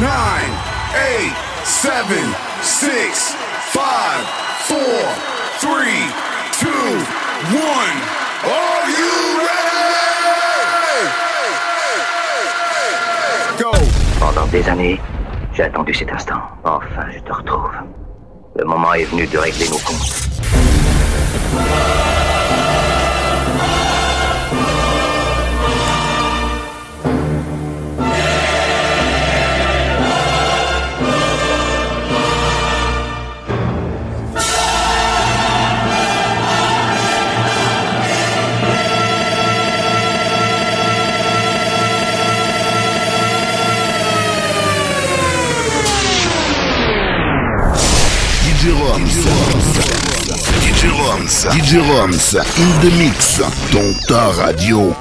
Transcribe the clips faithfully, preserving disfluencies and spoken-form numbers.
nine, eight, seven, six, five, four, three, two, one. Are you ready? Go! Pendant des années, j'ai attendu cet instant. Enfin, je te retrouve. Le moment est venu de régler nos comptes. D J Roms, D J Roms, D J Roms, in the mix, dans ta radio.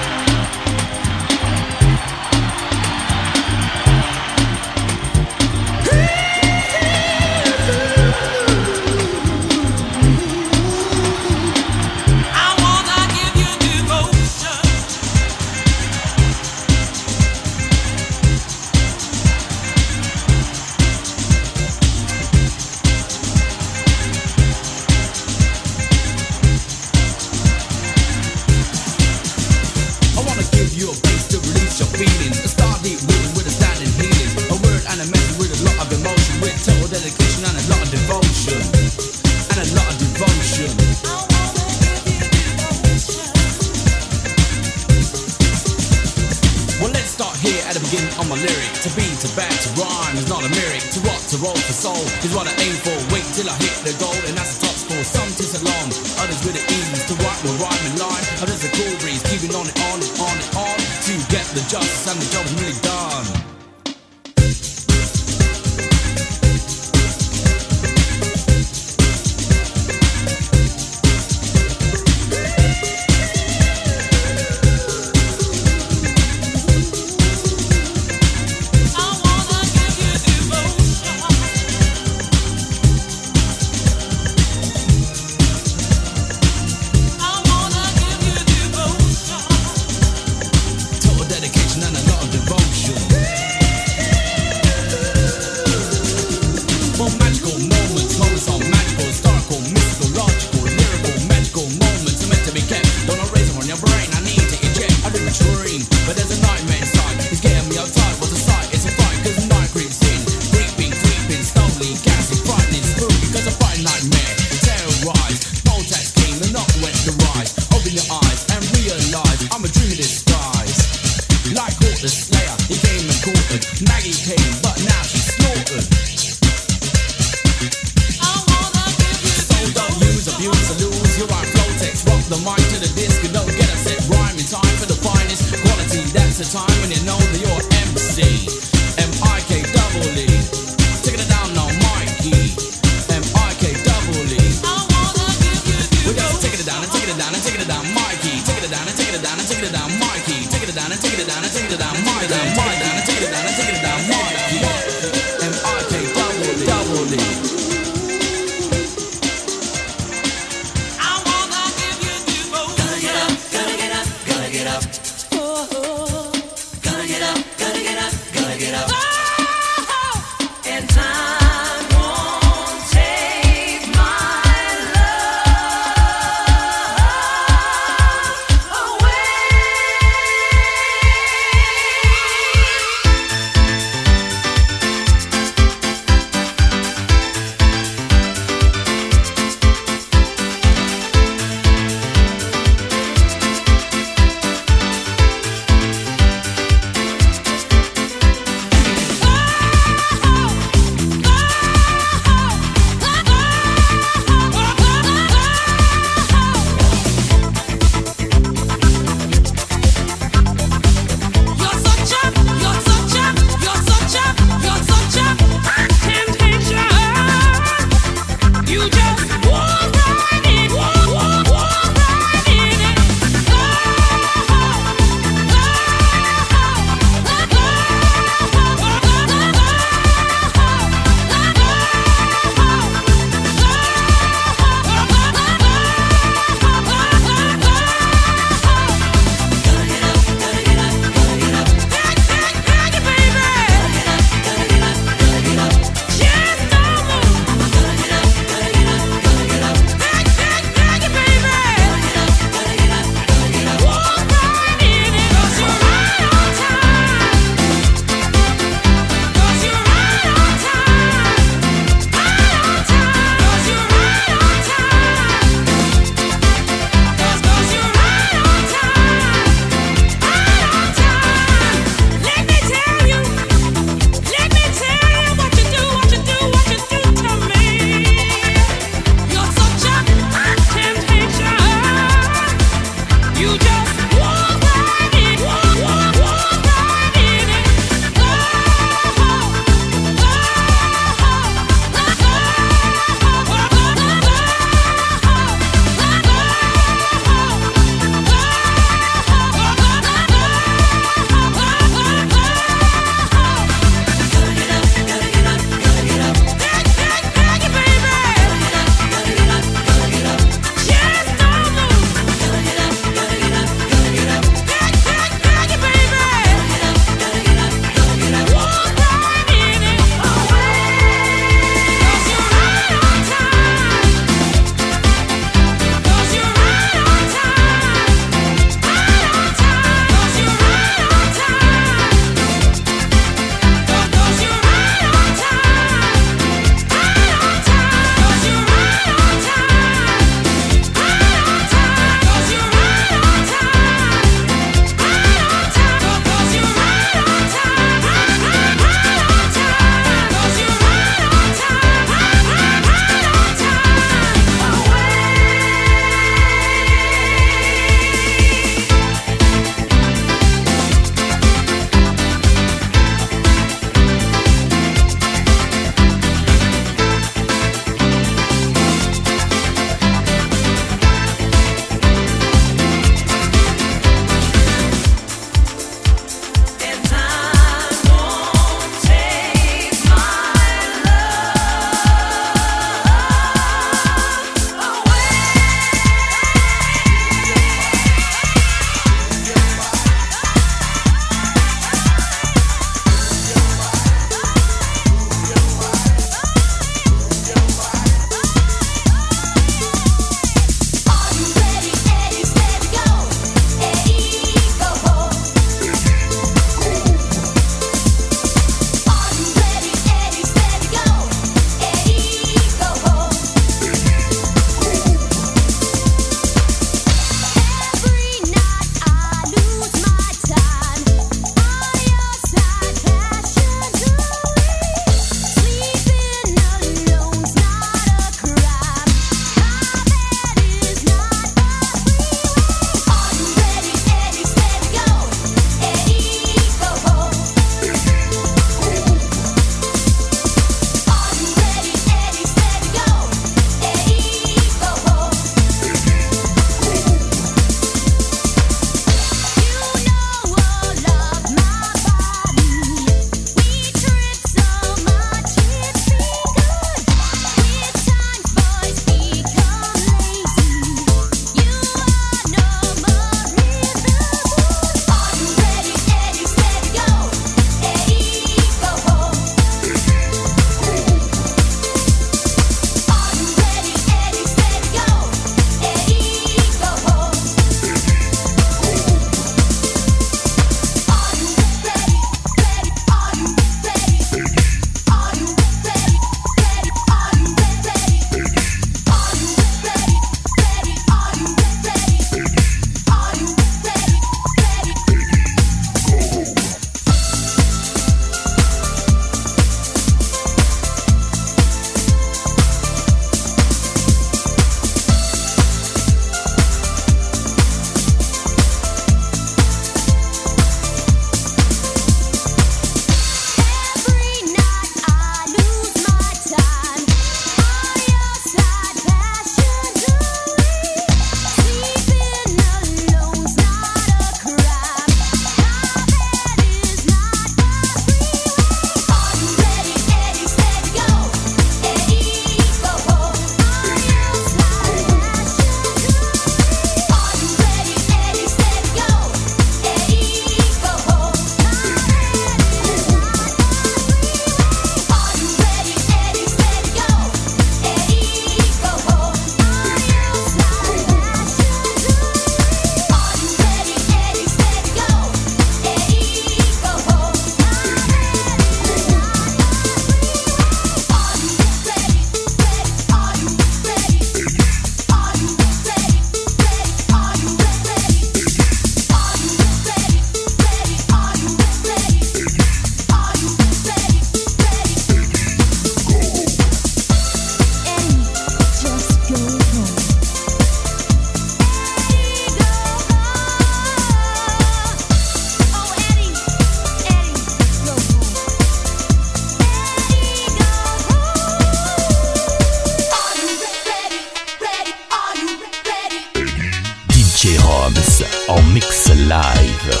en mix live.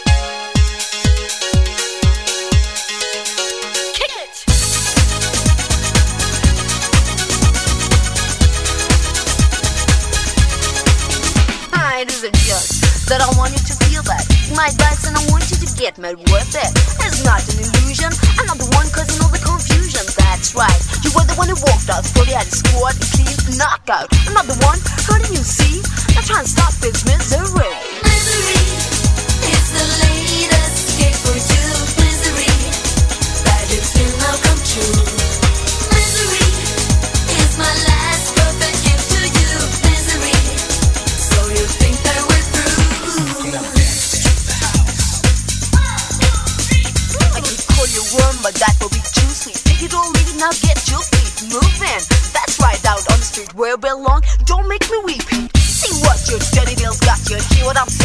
It isn't just that I want you to feel that my advice and I want you to get mad with it. It's not an illusion, I'm not the one causing all the confusion. That's right, you were the one who walked out, thought you had a squad, a clean knockout. I'm not the one hurting you, see? Now try and stop this misery. Misery is the latest escape for you. Misery, that dreams will now come true. Misery is my last perfect gift to you. Misery, so you think that we're through. I can call you warm, but that will be too sweet. Take it or leave it, now get your feet moving. That's right, out on the street where I belong. Don't make me weep. See what your dirty nails got you. Hear what I'm saying?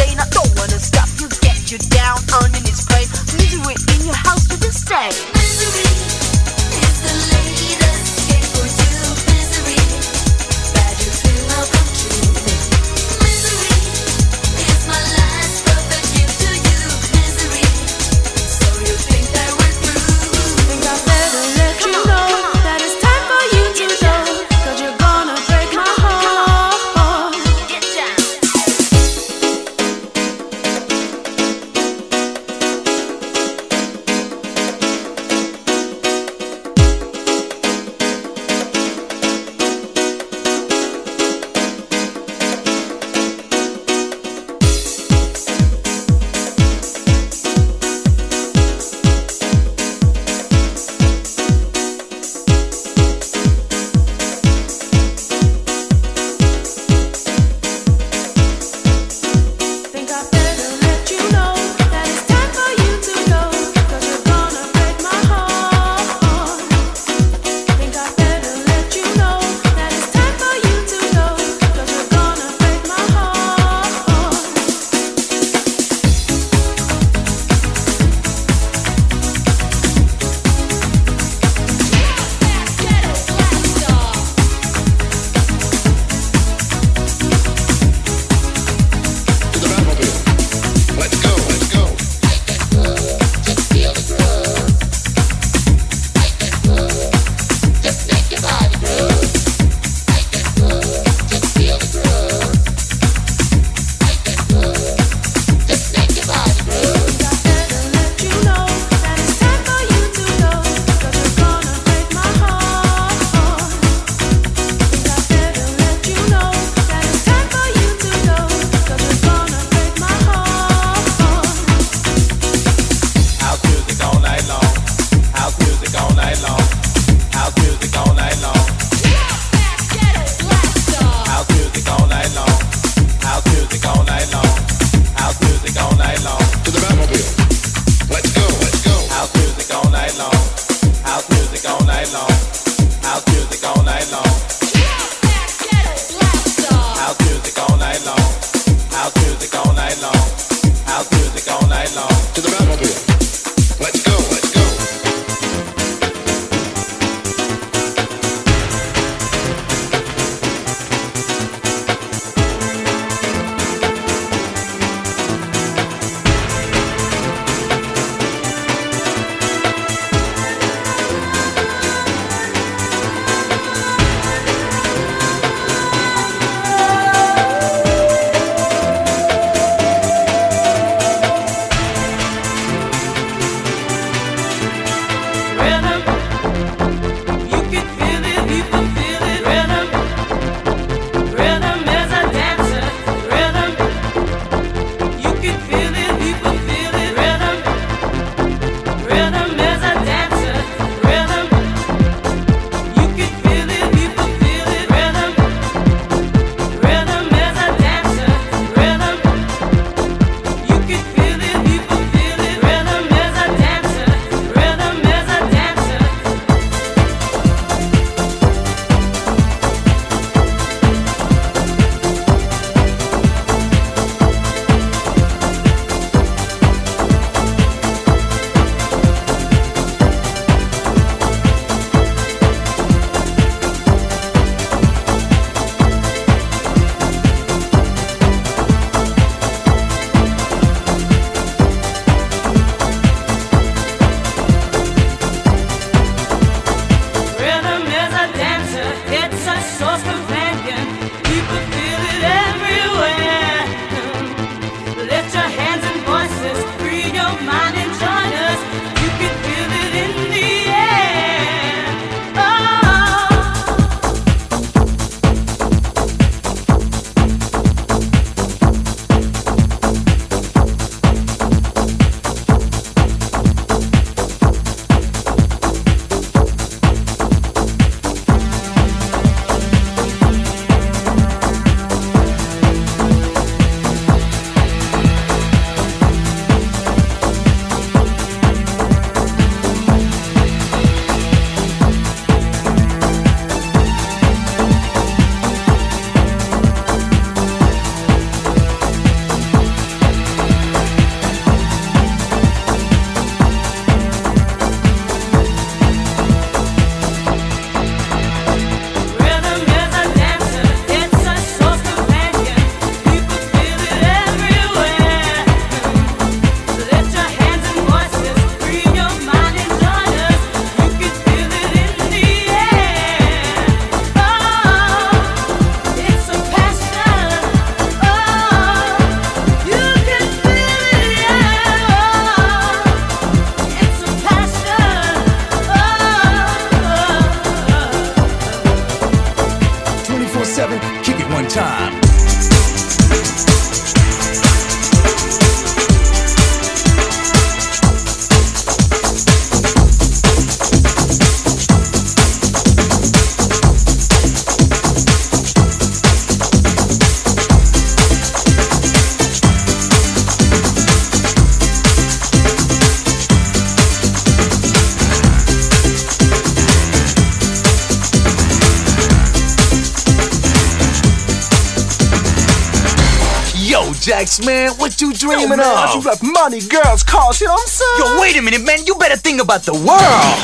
Jax, man. What you dreaming Yo, man, of? you got money, girls, cars, you know what I'm saying? Yo, wait a minute, man. You better think about the world.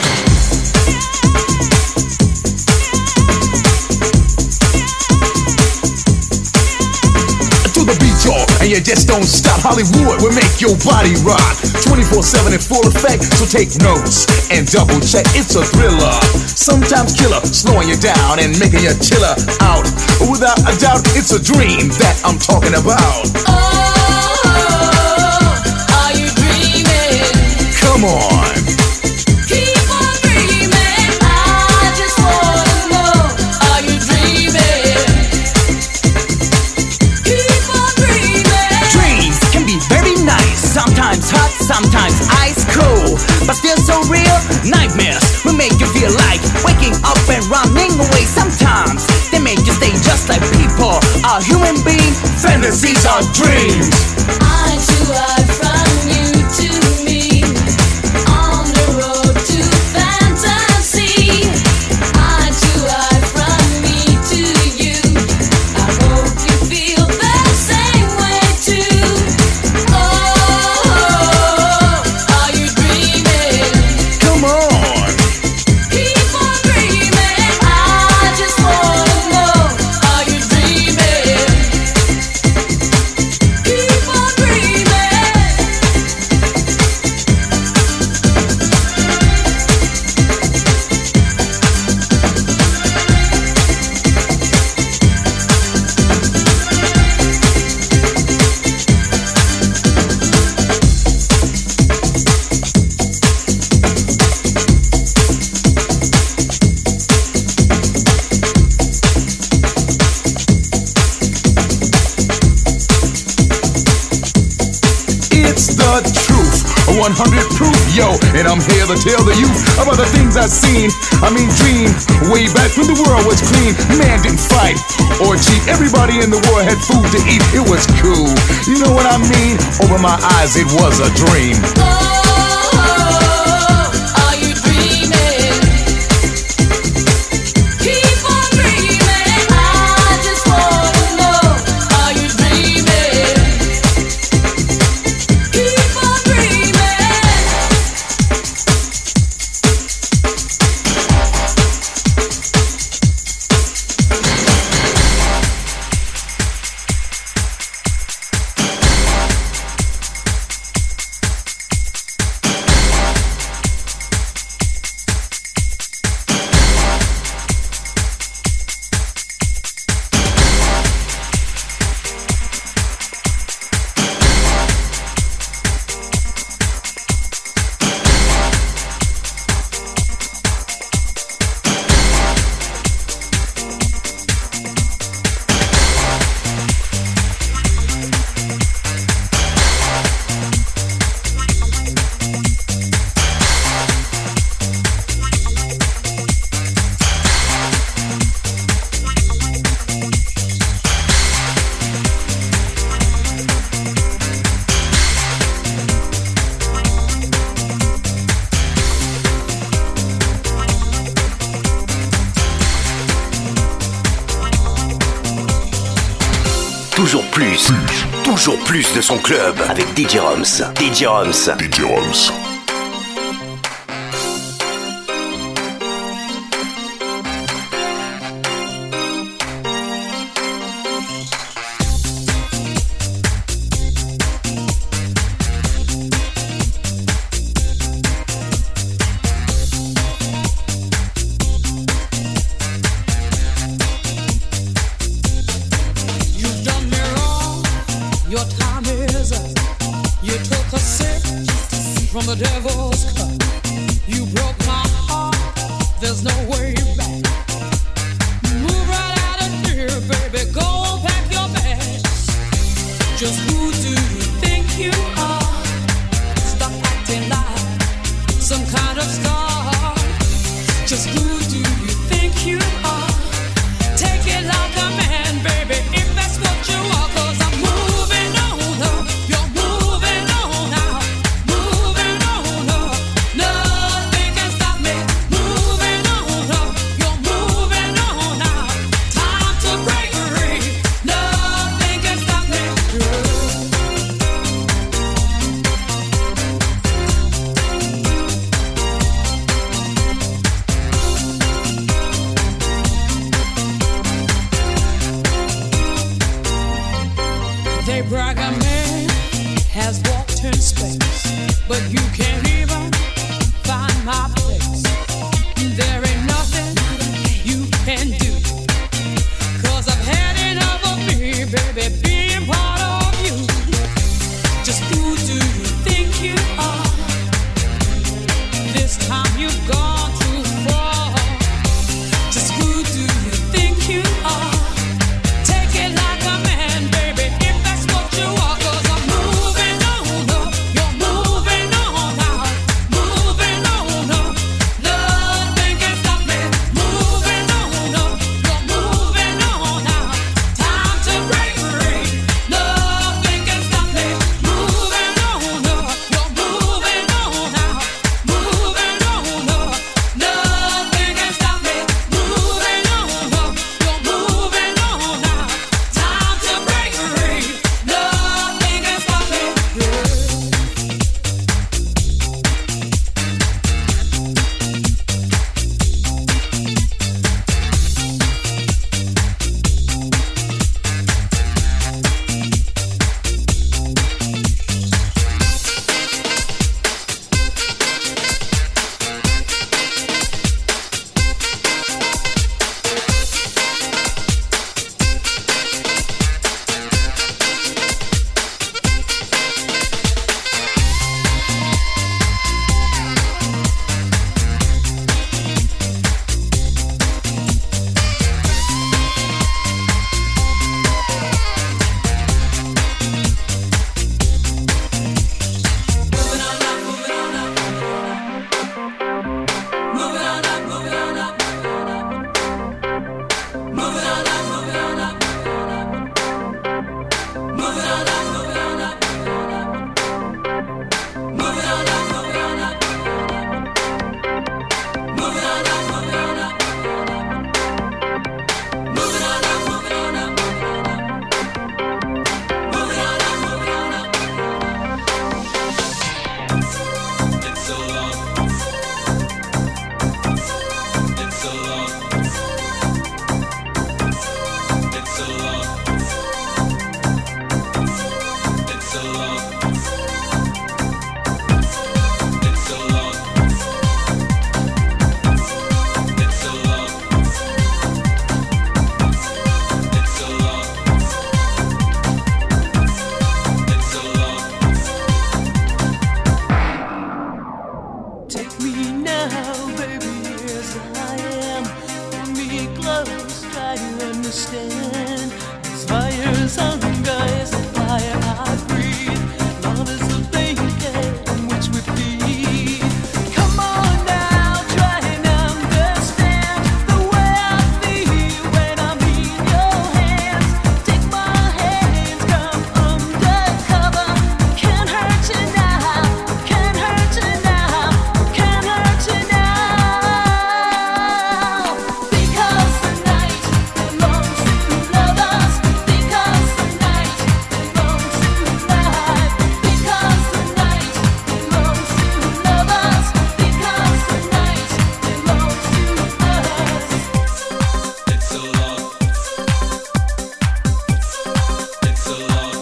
The beat, y'all, and you just don't stop. Hollywood will make your body rock twenty-four seven in full effect, so take notes and double check. It's a thriller, sometimes killer, slowing you down and making you chiller out. Without a doubt, it's a dream that I'm talking about. Oh, are you dreaming? Come on. Keep on dreaming. I just wanna know, are you dreaming? Keep on dreaming. Dreams can be very nice, sometimes hot, sometimes ice cold, but still so real. Nightmares will make you feel like waking up and running away. Sometimes they make you stay just like people are human beings. Fantasies are dreams. I too hide from you to me, on the road to fantasy. I too hide from me to you. I hope you feel the same way too. Oh, are you dreaming? Come on. Keep on dreaming. I just wanna know, are you dreaming? Keep on dreaming. It's the truth, one hundred proof, yo. And I'm here to tell the youth about the things I've seen. I mean, dream way back when the world was clean. Man didn't fight or cheat. Everybody in the world had food to eat. It was cool. You know what I mean? Over my eyes, it was a dream. Oh, are you dreaming? Keep on dreaming. I just wanna know, are you dreaming? Keep on dreaming. Toujours plus, toujours plus de son club avec D J Roms. D J Roms. D J Roms. You've done me wrong. Your time is up. You took a sip from the devil's cup. You broke my heart. There's no way back. Move right out of here, baby. Go pack your bags. Just who do you think you are? Stop acting like some kind of star. Just who do you think you are? Take it like a man, baby, if that's what you are. 'Cause I'm moving on up. You're moving on now. Moving on up. Nothing can stop me. Moving on up. You're moving on now. Time to break free. Nothing can stop me. has walked in space, but you can't even find my place. There ain't nothing you can do, 'cause I've had enough of me, baby, being part of you. Just who do you think you are? This time you've gone too far. Just who do you think you are? Take it like a man, baby, if that's what you are. 'Cause I'm moving on up, you're moving on out, moving on up. Nothing can stop me. Moving on up, you're moving on out. Time to break free. Nothing can stop me. Moving on up, you're moving on out, moving on up. Nothing can stop me. Moving on up, you're moving on out. Time to break free. Nothing can stop me. Take me now, baby, as I am. Pull me close, try to understand. This fire's hunger is the fire I breathe. Love is the blanket on which we feed. Come on now, try and understand the way I feel when I'm in your hands. Take my hands, come undercover. Can't hurt you now, can't hurt you now, can't hurt you now. Because the night belongs to lovers. Because the night belongs to life. Because the night belongs to lovers. Because the night belongs to us. It's so long. It's so long.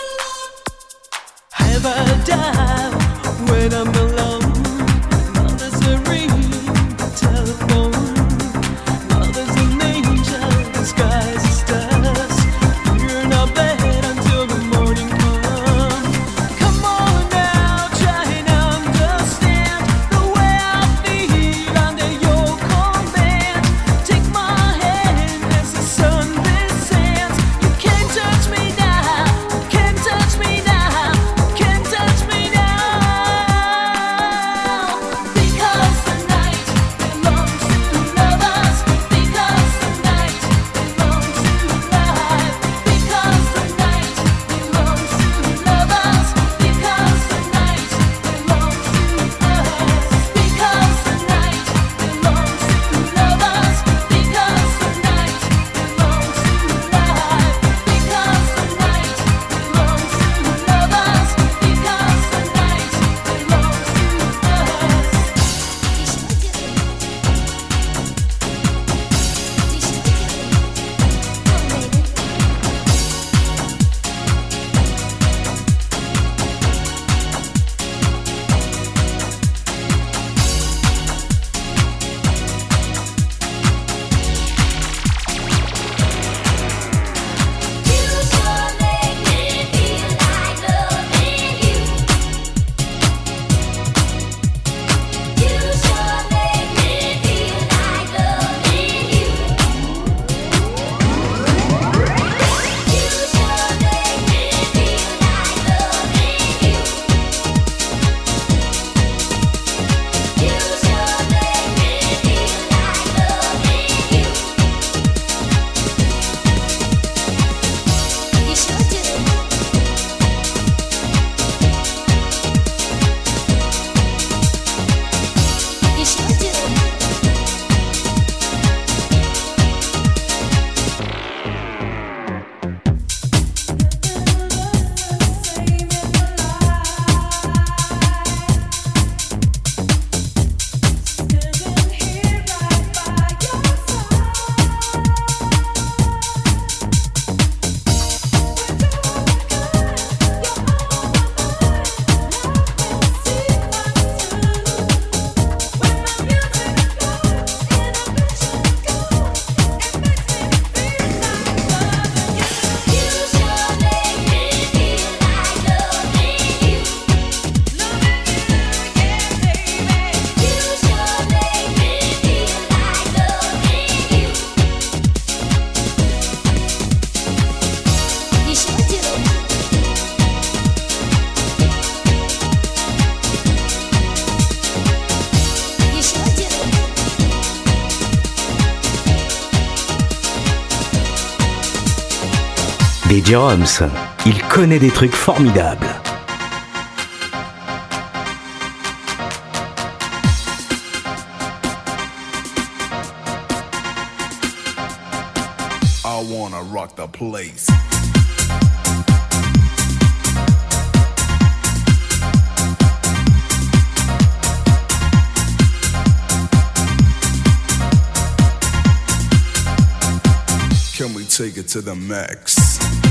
Have a dial when I'm alone. Now there's a ring, telephone. Now there's an angel disguised as dust. You're not bed until the morning comes. Come on now, try and understand the way I feel under your command. Take my hand as the sun descends. You can't touch me now, can't touch me now, can't touch me now. D J Roms, il connaît des trucs formidables. I wanna rock the place. Can we take it to the max?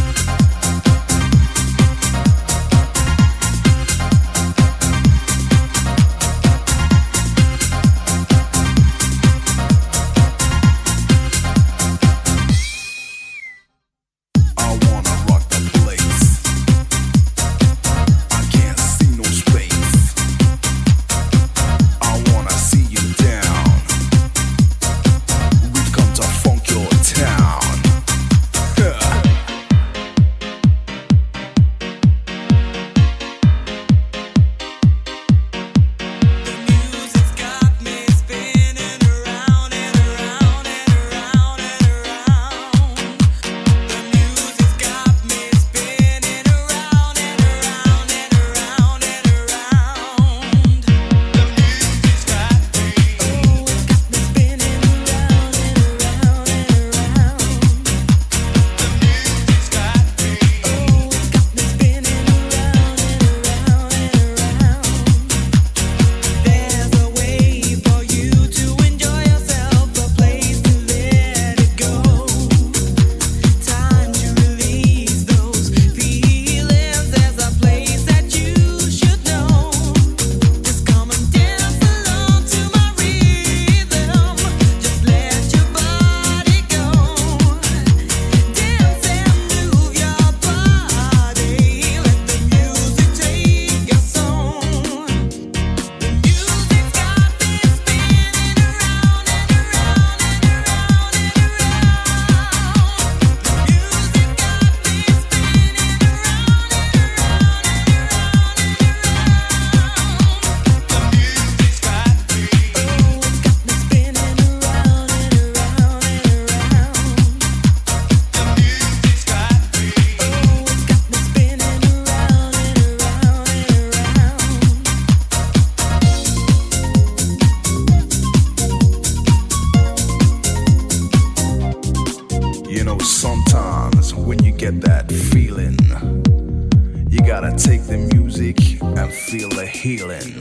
Healing.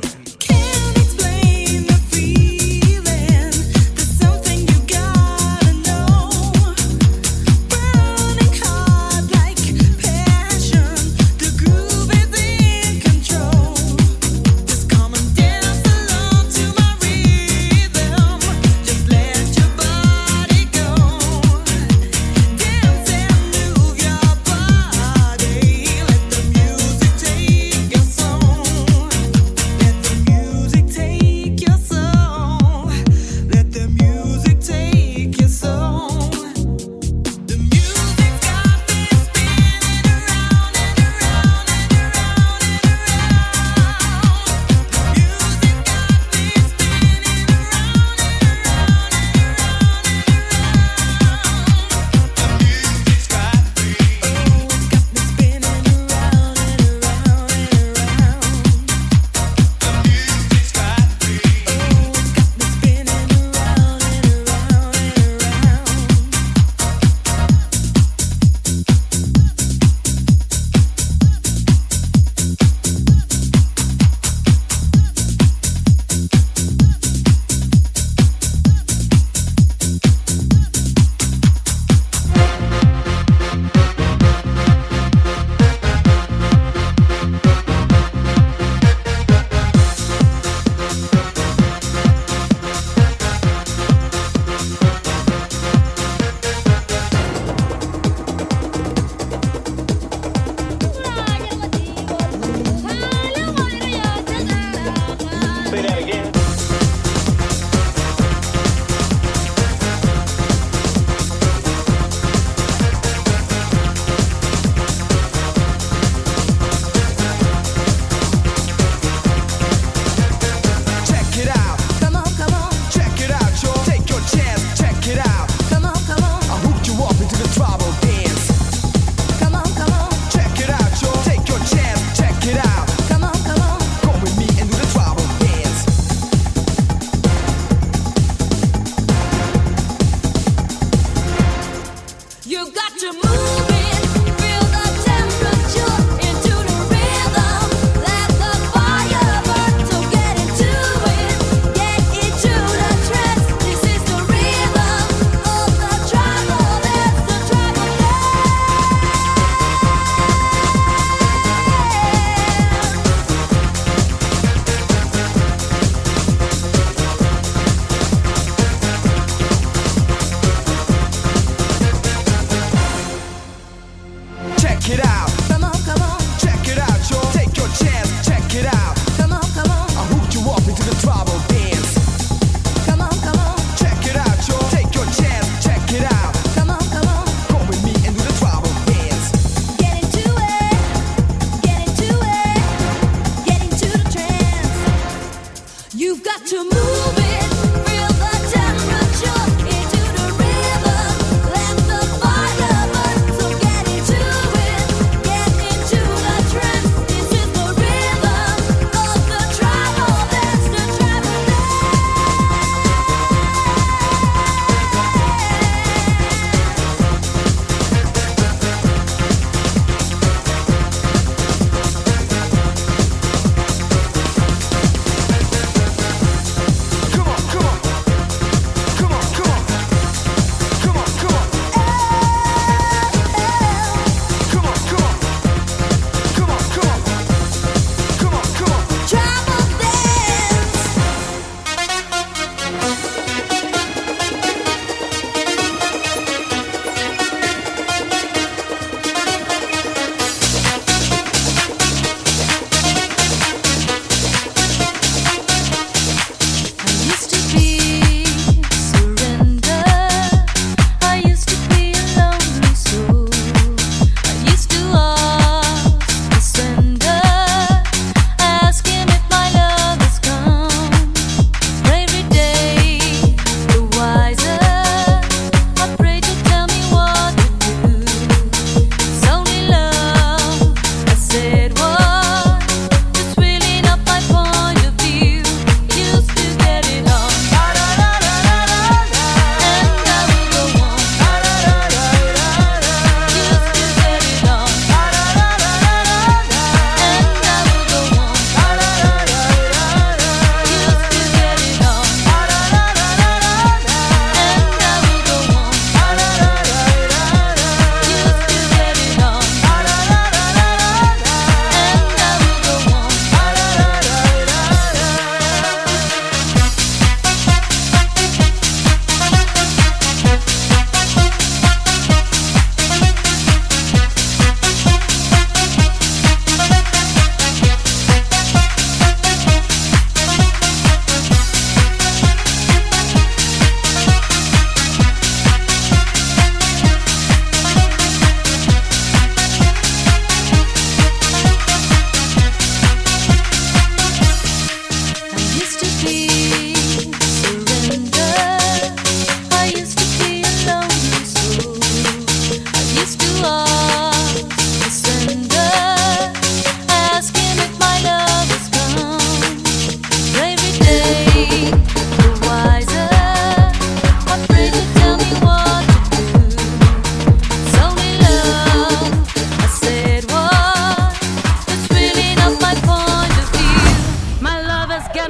Let the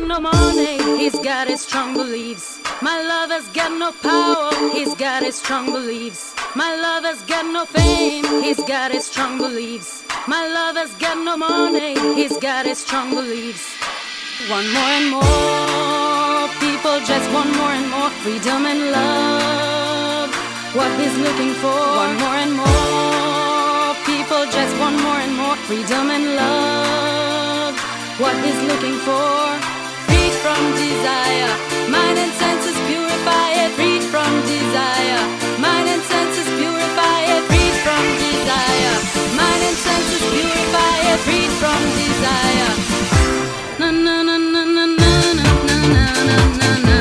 no money, he's got his strong beliefs. My lover's got no power, he's got his strong beliefs. My lover's got no fame, he's got his strong beliefs. My lover's got no money, he's got his strong beliefs. One more and more, people just want more and more freedom and love. What he's looking for, one more and more, people just want more and more freedom and love. What he's looking for, freed from desire, mind and senses purify it, freed from desire, mind and senses purify it, freed from desire, mind and senses purify it, freed from desire. Na na na na na na na na na na na.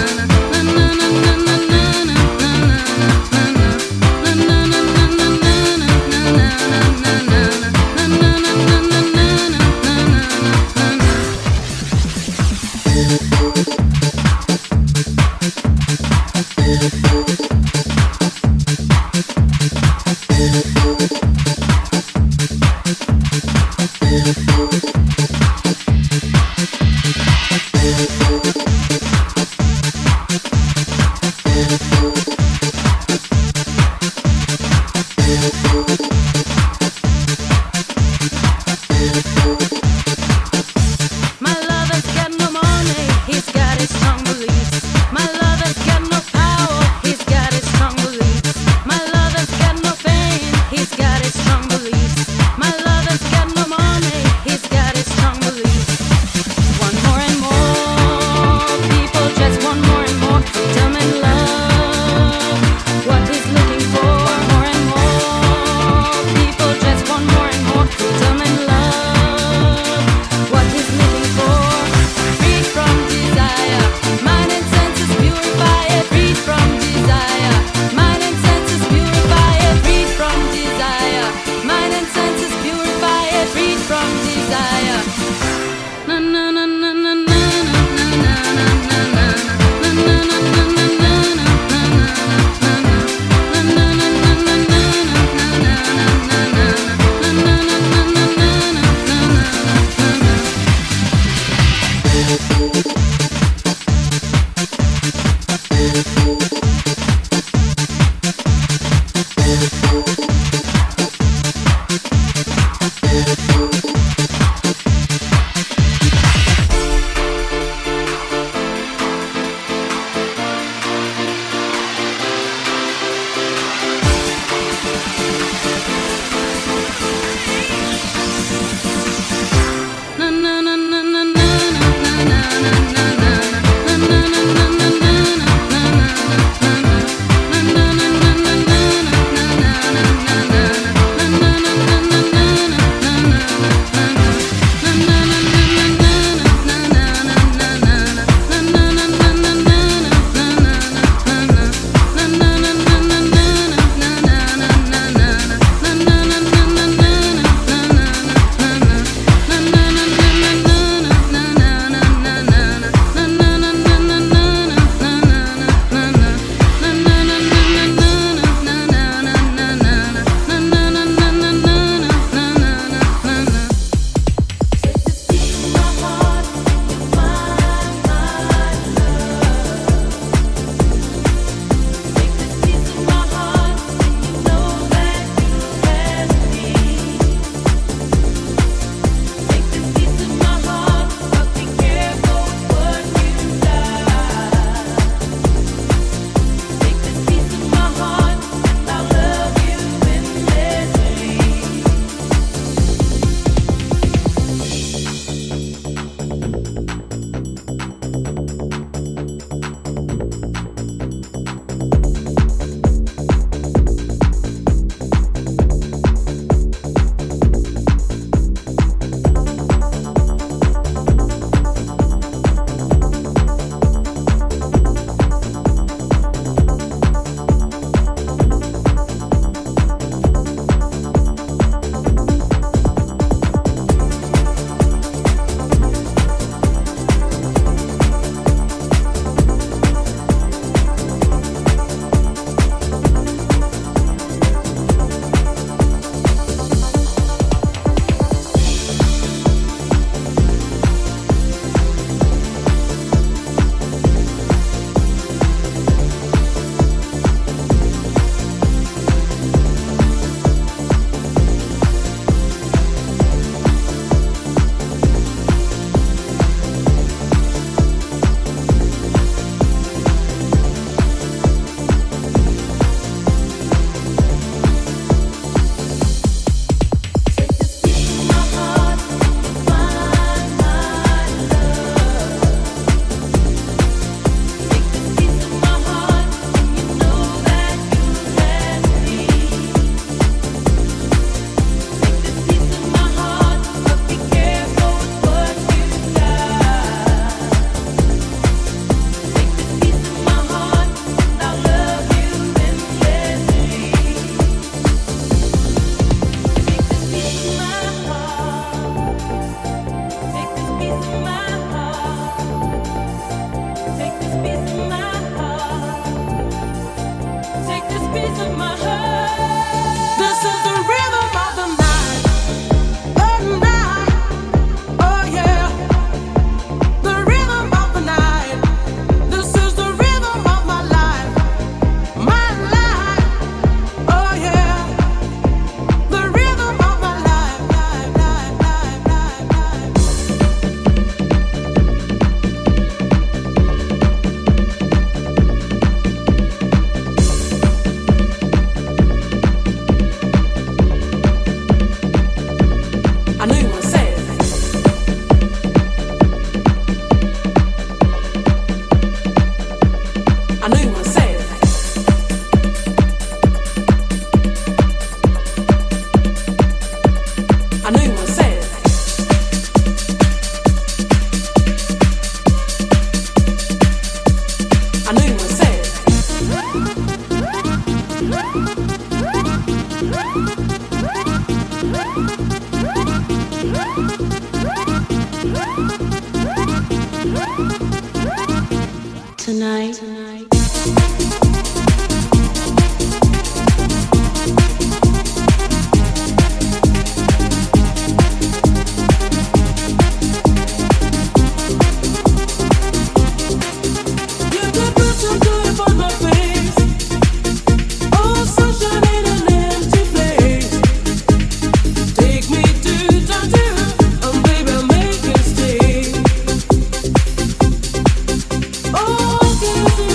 Oh,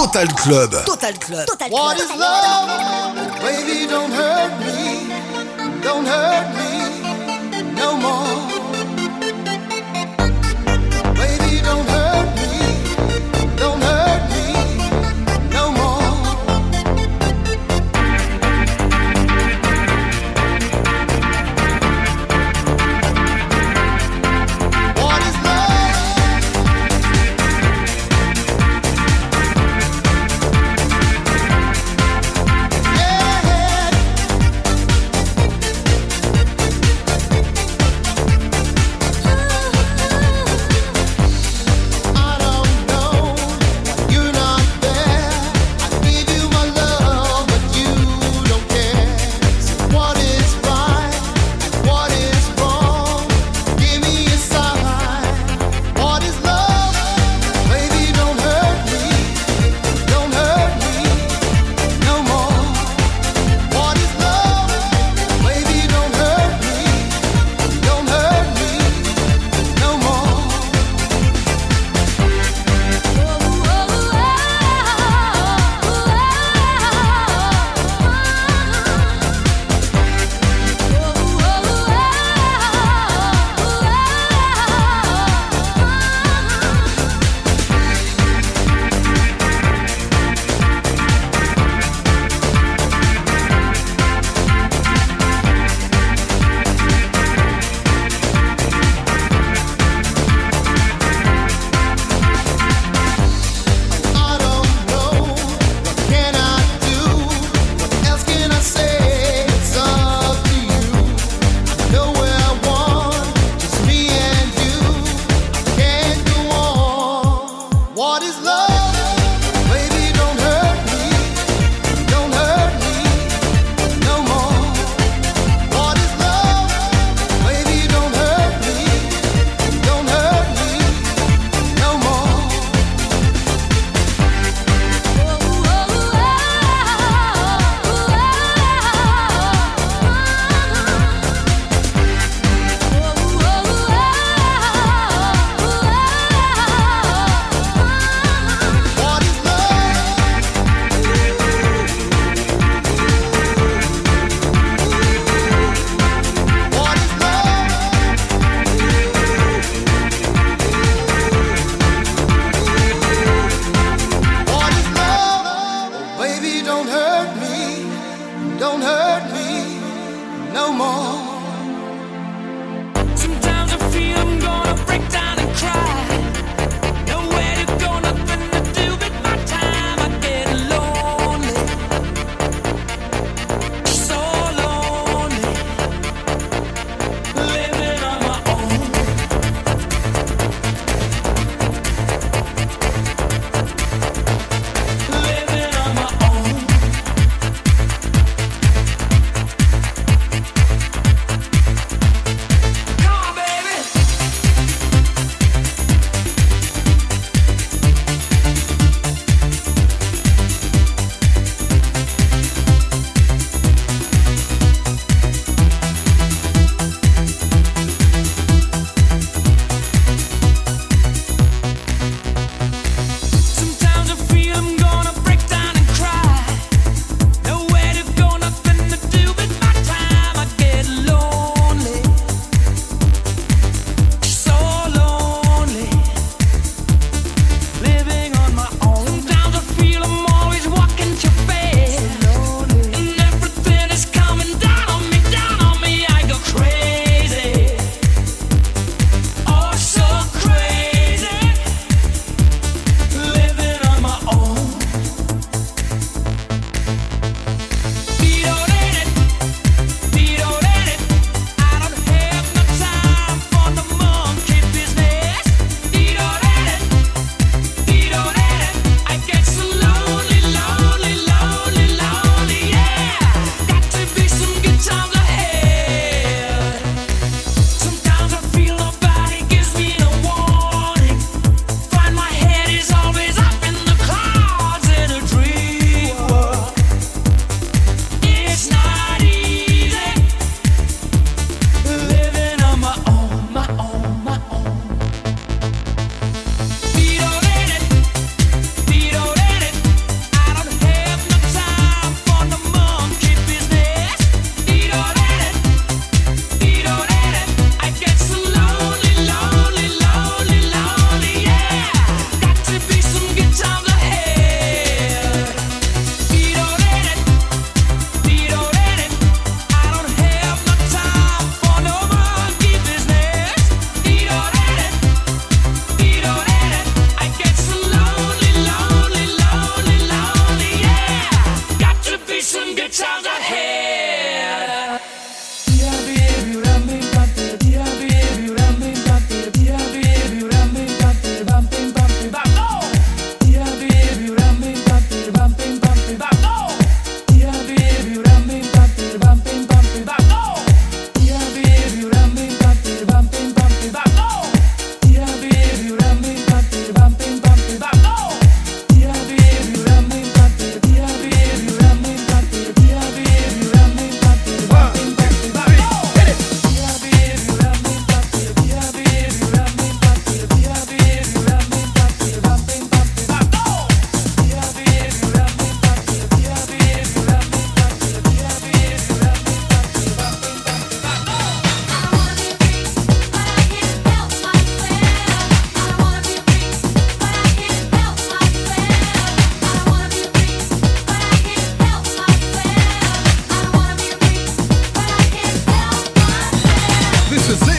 Total Club. Total Club. Total Club. What is love? Baby, don't hurt me. Don't hurt me no more. Baby, don't hurt me. Don't hurt me no more. What is love? Yeah.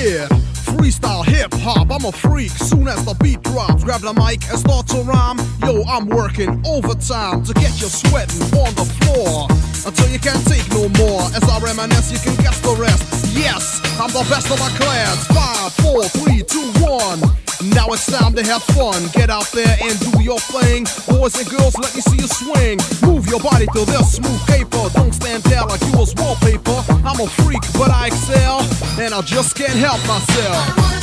Yeah, freestyle hip hop, I'm a freak. Soon as the beat drops, grab the mic and start to rhyme. Yo, I'm working overtime to get you sweating on the floor until you can't take no more. As I reminisce, you can guess the rest. Yes, I'm the best of my class. Five, four, three, two, one. Now it's time to have fun. Get out there and do your thing. Boys and girls, let me see you swing. Move your body to this smooth paper. Don't stand there like you was wallpaper. I'm a freak, but I excel, and I just can't help myself.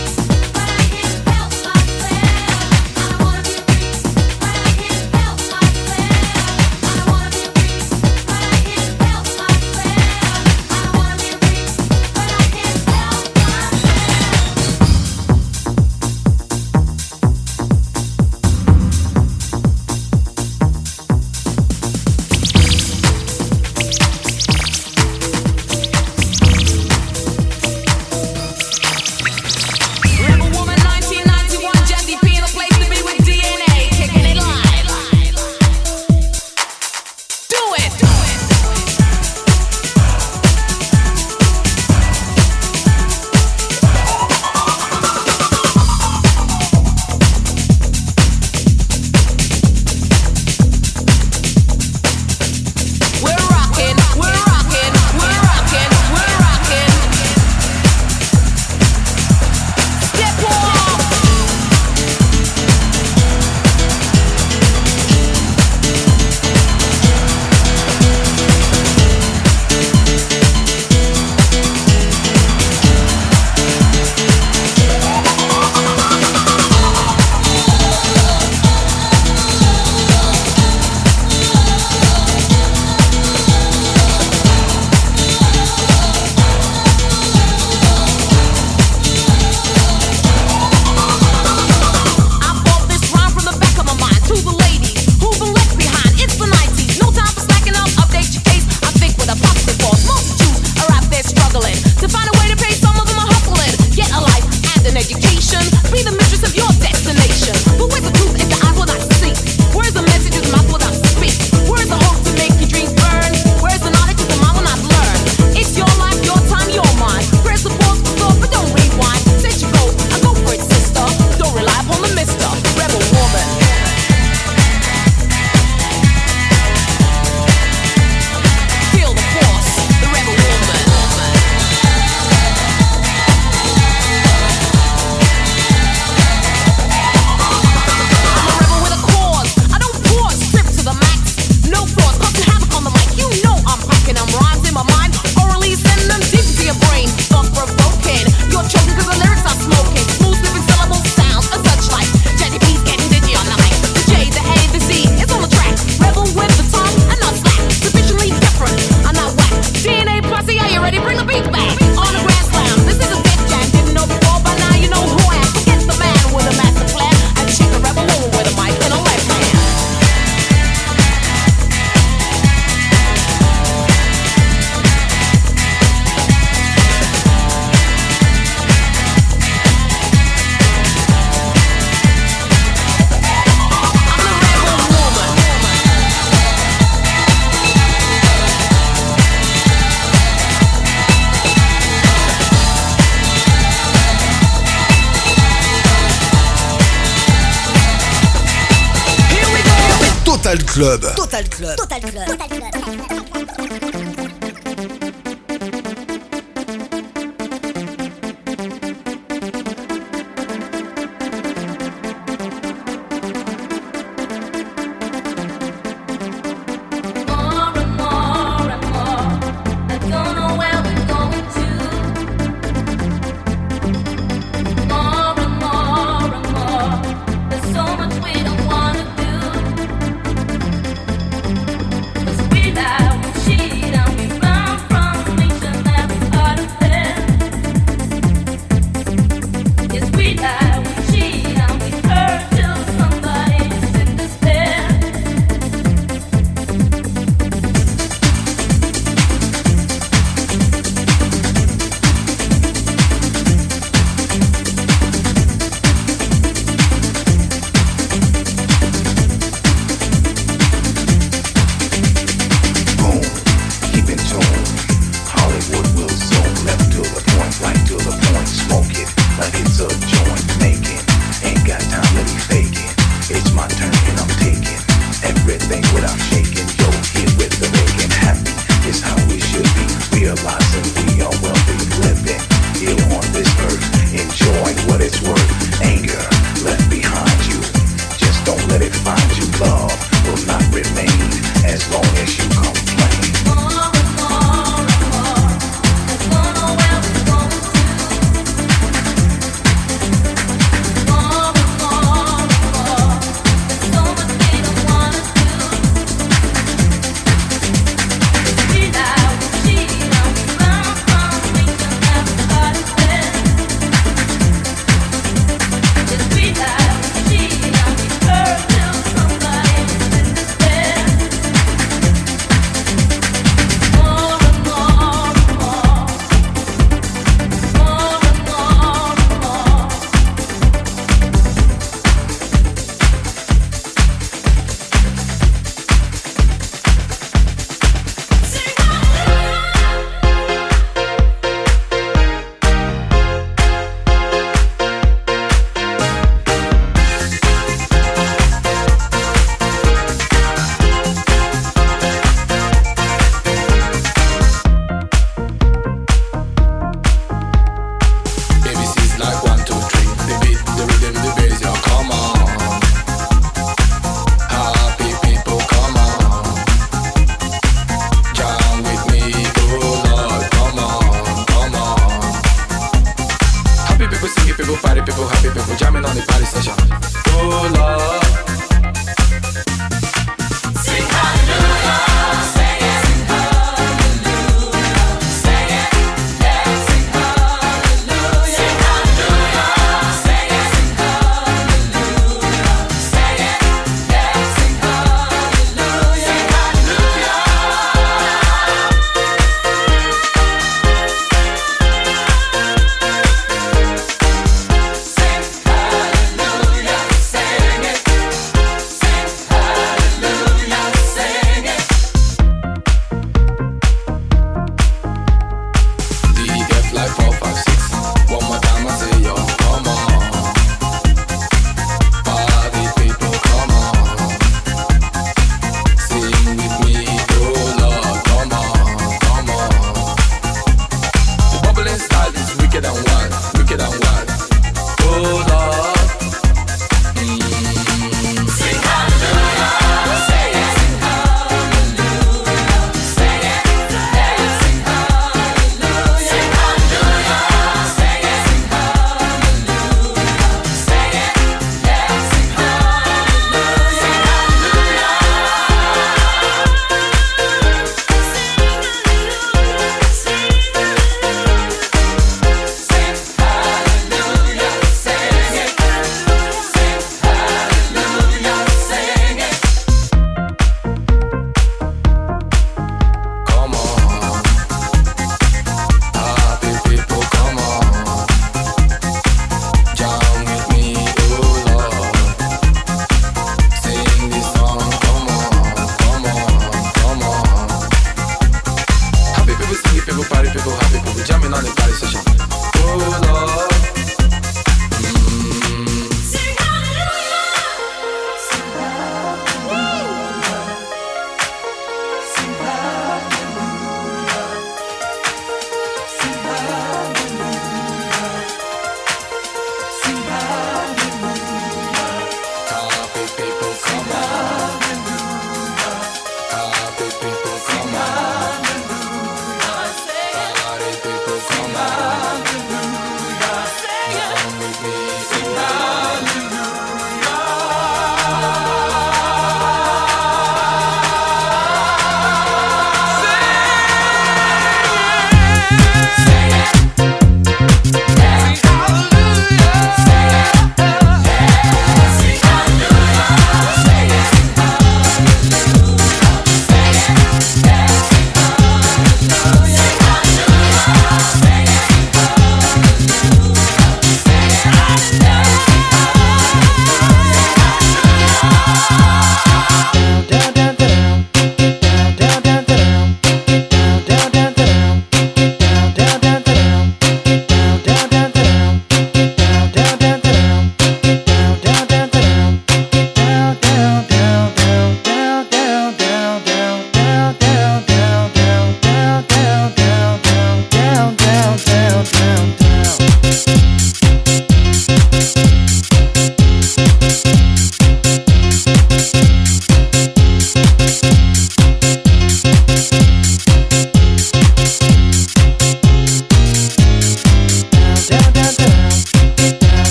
Total Club. Total Club. Total Club. Total Club. We now People party, people happy, people jamming on the party session. Oh Lord. Sing hallelujah, sing it, sing hallelujah, sing it, yeah, sing hallelujah, sing hallelujah, sing it, sing hallelujah, sing it, yeah, sing hallelujah, sing hallelujah. Sing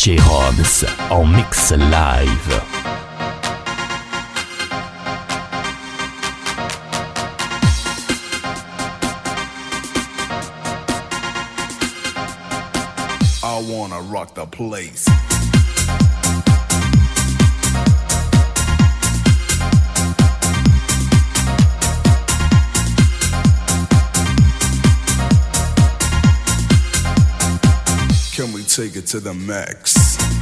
D J Roms en mix live. I wanna rock the place. Can we take it to the max?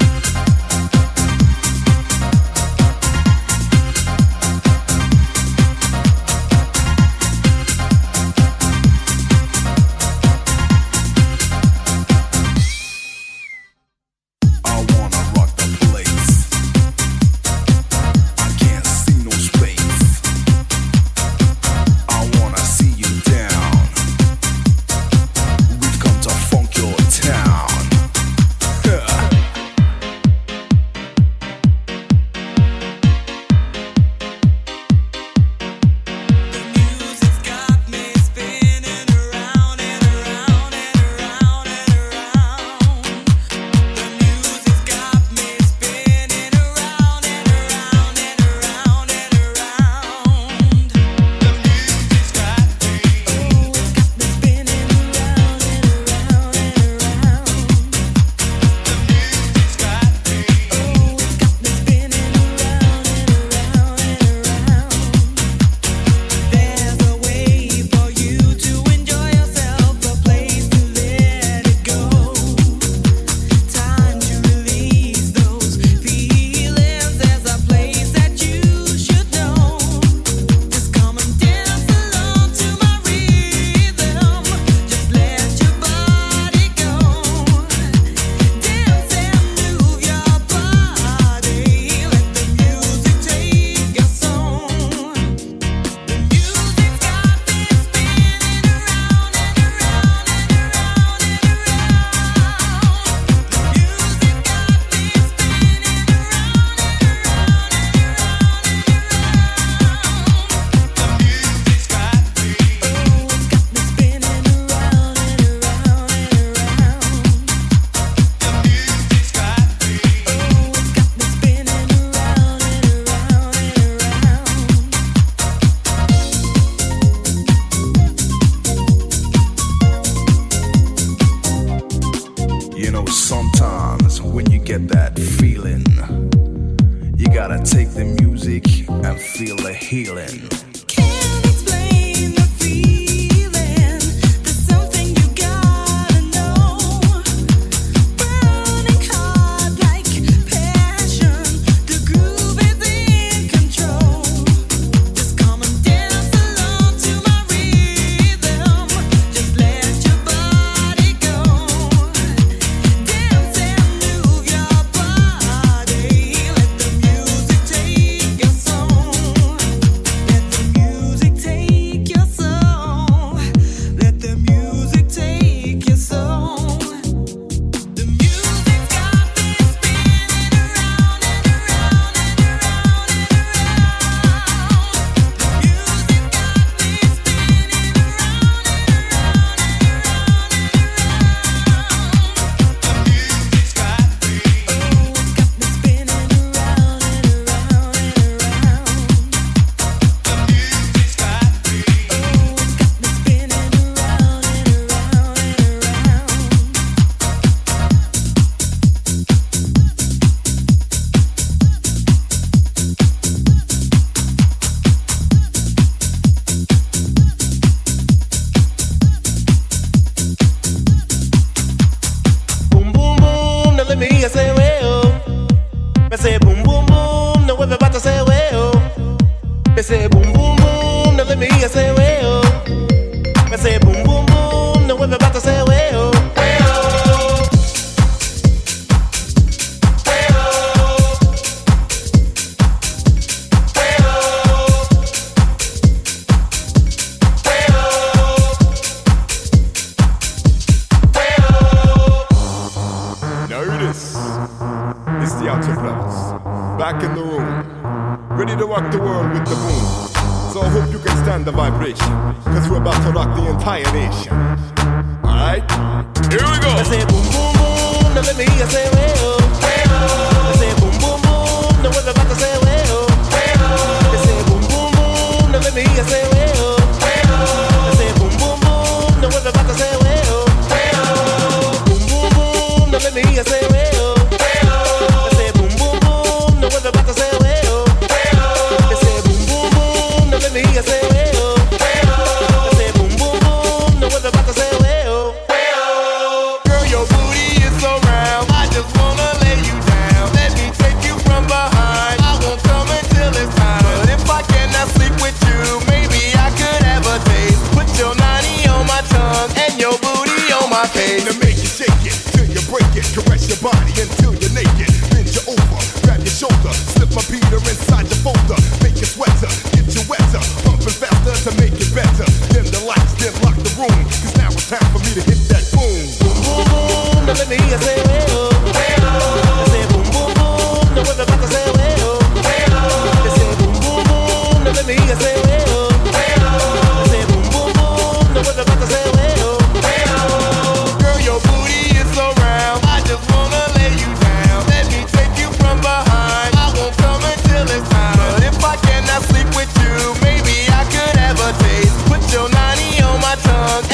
Back in the room, ready to rock the world with the boom. So I hope you can stand the vibration, cause we're about to rock the entire nation. Alright, here we go. I say boom boom boom, now let me hear you say well.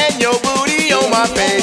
and your booty on my face.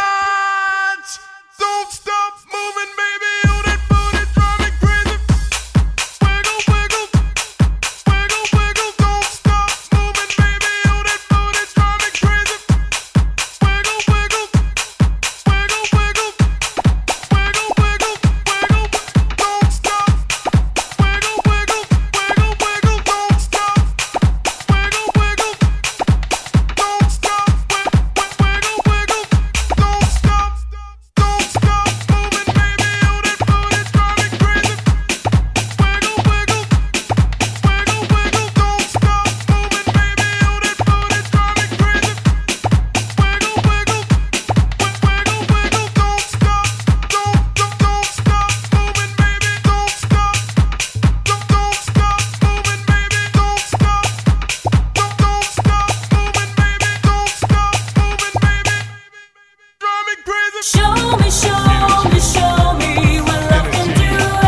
Don't stop moving, baby. Oh, that booty drive me crazy. Wiggle, wiggle, wiggle, wiggle. Don't stop moving, baby. Oh, that booty drive me crazy. Wiggle, wiggle, wiggle, wiggle, wiggle, wiggle, wiggle. Don't stop. Wiggle, wiggle, wiggle, wiggle. Don't stop. Wiggle, wiggle. Don't stop. Wiggle, wiggle. Don't stop. Don't stop moving, baby. Oh, that booty drive me crazy. Wiggle, wiggle, wiggle, wiggle. Don't stop moving, baby. Oh, that booty drive me crazy. Wiggle, wiggle, wiggle, wiggle. Don't stop. Don't, don't, don't stop moving, baby. Don't stop. Don't, don't stop moving, baby. Don't stop. Don't, don't stop moving, baby. Don't stop moving, baby. Drive me crazy. Show me, show me, show me what love can do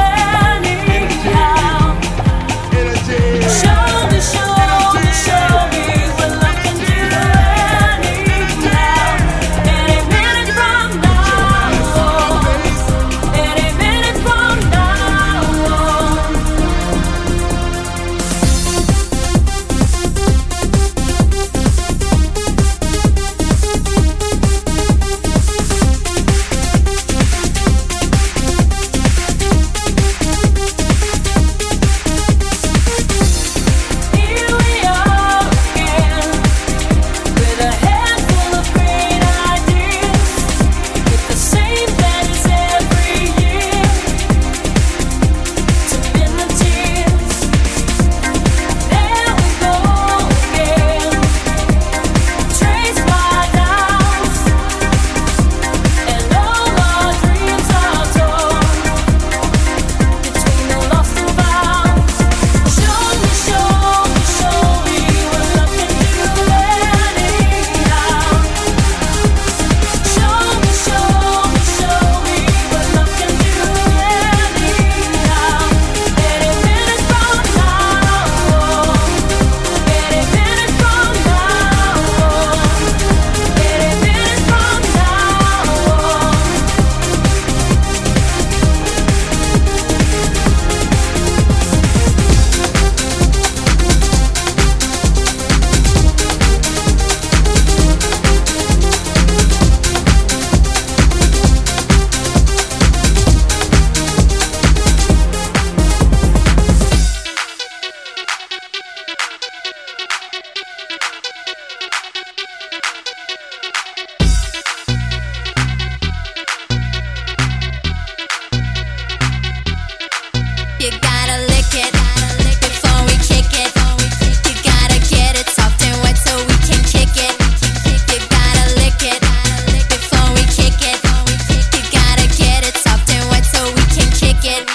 anyhow. Show me, show me, show me what love can do anyhow. Any minute from now, any minute from now. Here we are again, with a handful of great ideas, with the same plans every year to mend the tears. There we go again, traced by doubts, and all our dreams are torn between the lost and found. Show me, show me, show me what love can do anyhow. Show me, show me, show me what love can do anyhow. Any minute from now, any minute from now, any minute from You gotta lick it before we kick it. You gotta get it soft and wet so we can kick it. You gotta lick it before we kick it. You gotta get it soft and wet so we can kick it.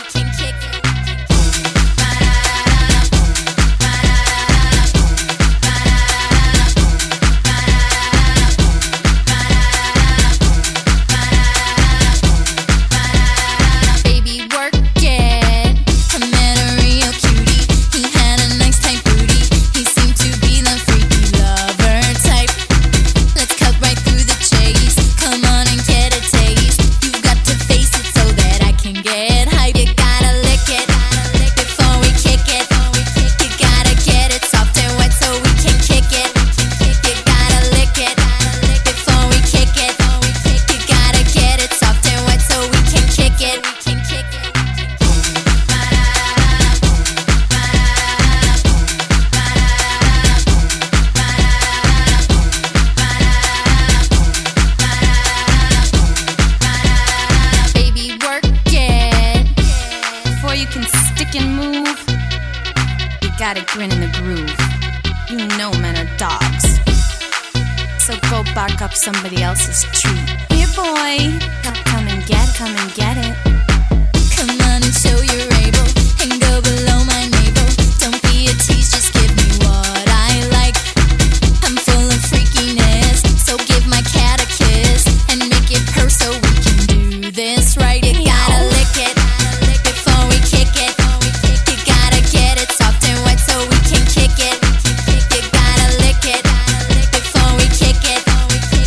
Baby, work it. I met a real cutie. He had a nice tight booty. He seemed to be the freaky lover type. Let's cut right through the chase. Come on and get a taste. You've got to face it so that I can get hype. You gotta lick it before we kick it. You gotta get it soft and wet so we can kick it. You gotta lick it before we kick it. You gotta get it soft and wet so we can kick it. Baby, work it. Before you can stick and move, you gotta grin in the groove. You know men are dogs, so go bark up somebody else's tree. Here, boy, come, come and get, come and get it. Come on and show you're able, and go below my navel. Don't be a tease, just give me what I like. I'm full of freakiness, so give my cat a kiss and make it purr so we can do this right. You gotta lick it before we kick it. You gotta get it soft and wet so we can kick it. You gotta lick it before we kick it.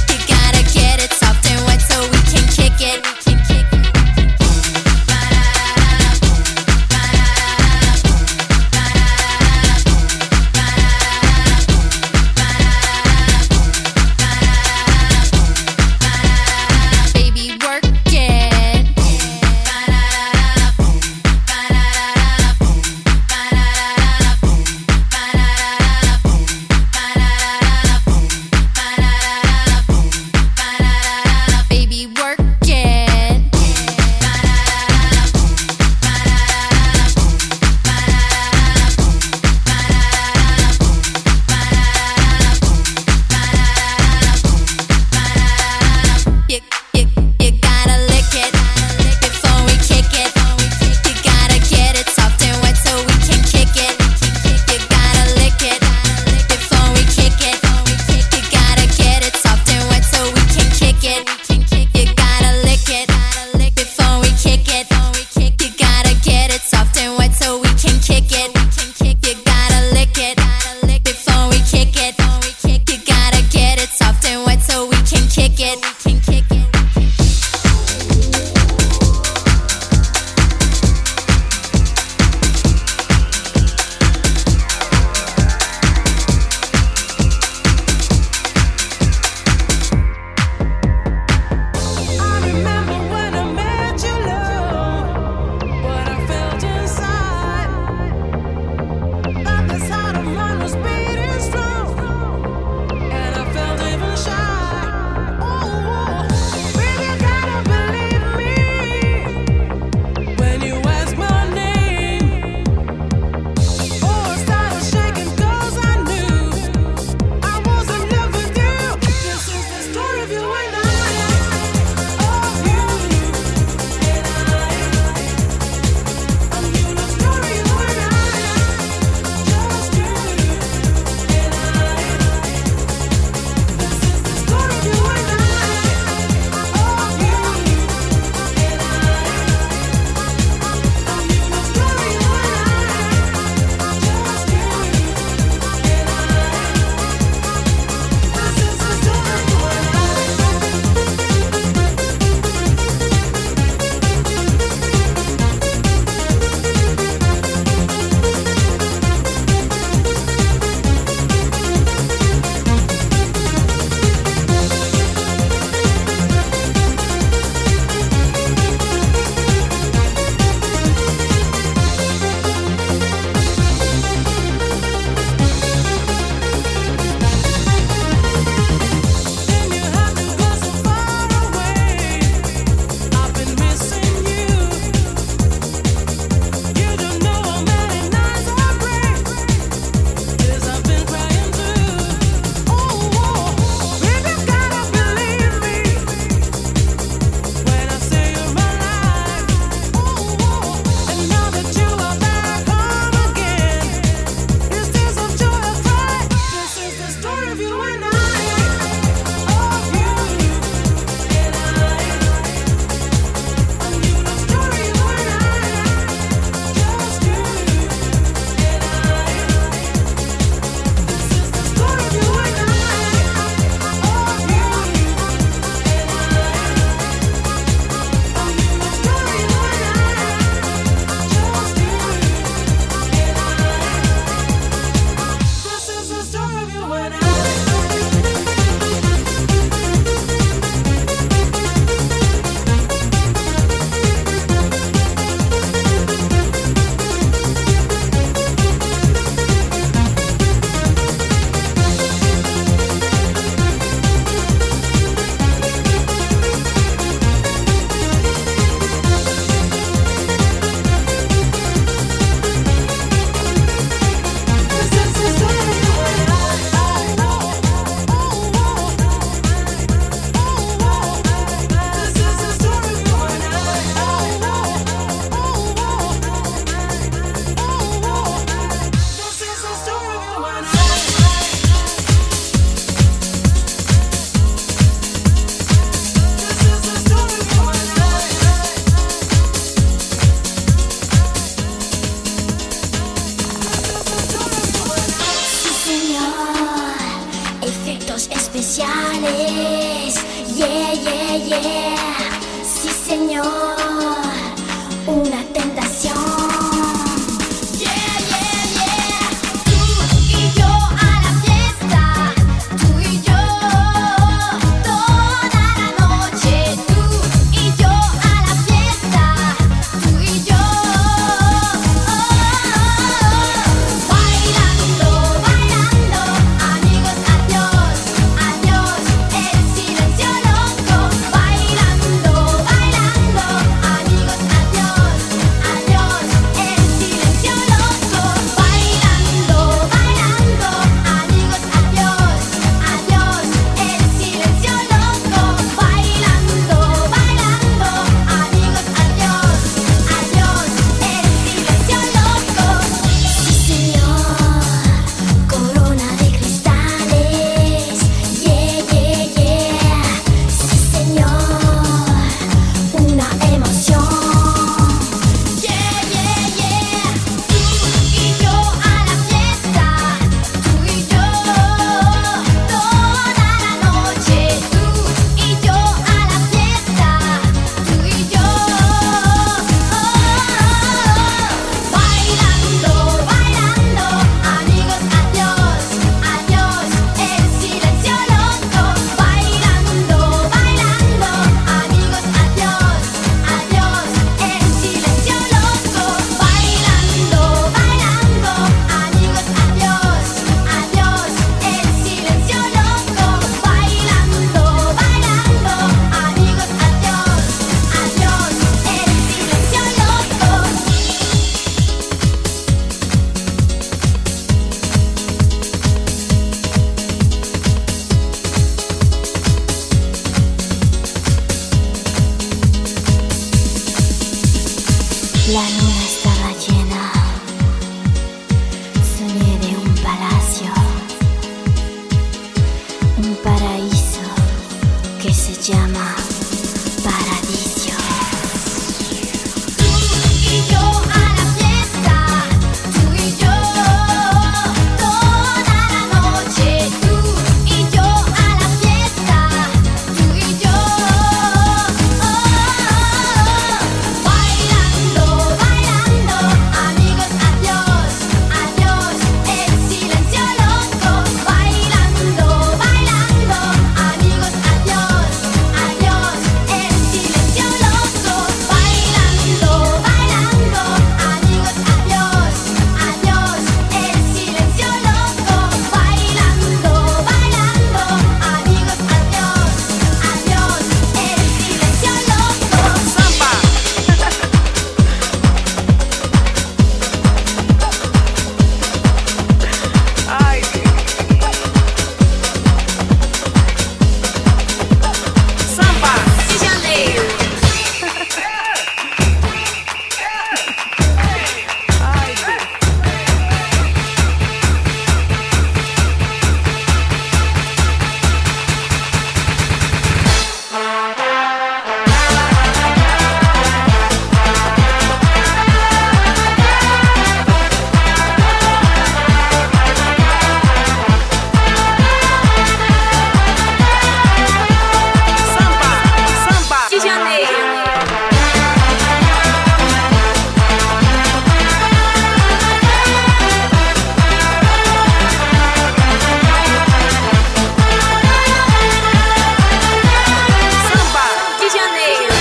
La luna estaba llena, soñé de un palacio, un paraíso que se llama Paradiso. Tú y yo a la fiesta, tú y yo toda la noche. Tú y yo a la fiesta, tú y yo bailando, bailando, amigos, adiós, adiós, el silencio loco. Bailando, bailando, amigos, adiós, adiós, el silencio loco. Bailando, bailando, amigos, adiós, adiós, el silencio loco. Bailando, bailando, amigos, adiós, adiós, el silencio loco. Samba. Ay. Samba. De Janeiro. Ai, Samba. De Janeiro. Samba. De Janeiro.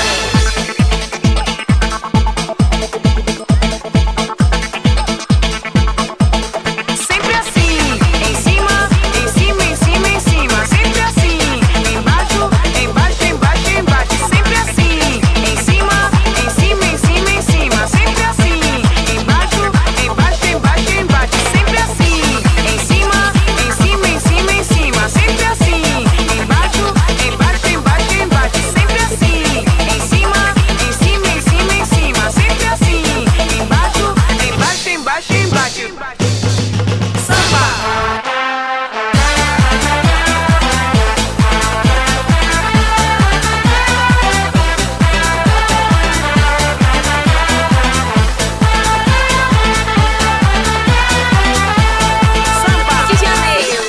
Sempre assim, em cima, em cima, em cima, em cima. Sempre assim, embaixo, embaixo, embaixo, embaixo. Sempre assim, em cima, em cima, em cima, em cima. Sempre assim, embaixo, embaixo, embaixo, embaixo. Sempre assim, em cima, em cima, em cima, em cima. Sempre assim, embaixo, embaixo, embaixo, embaixo. Sempre assim, em cima, em cima, em cima, em cima. Sempre assim, embaixo, embaixo, embaixo, embaixo. Samba. De Janeiro.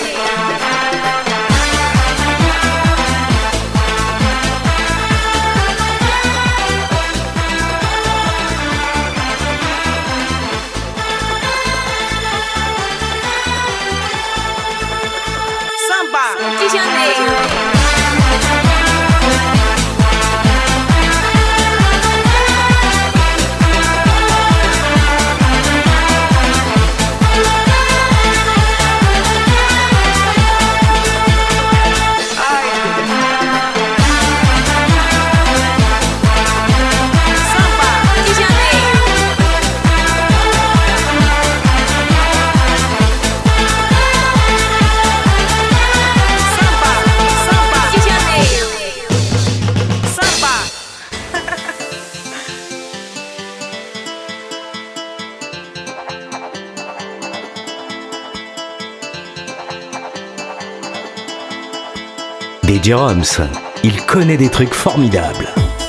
Samba. De Janeiro. Ai. Samba. De Janeiro. Samba. Samba. De Janeiro. Samba. D J Roms, il connaît des trucs formidables.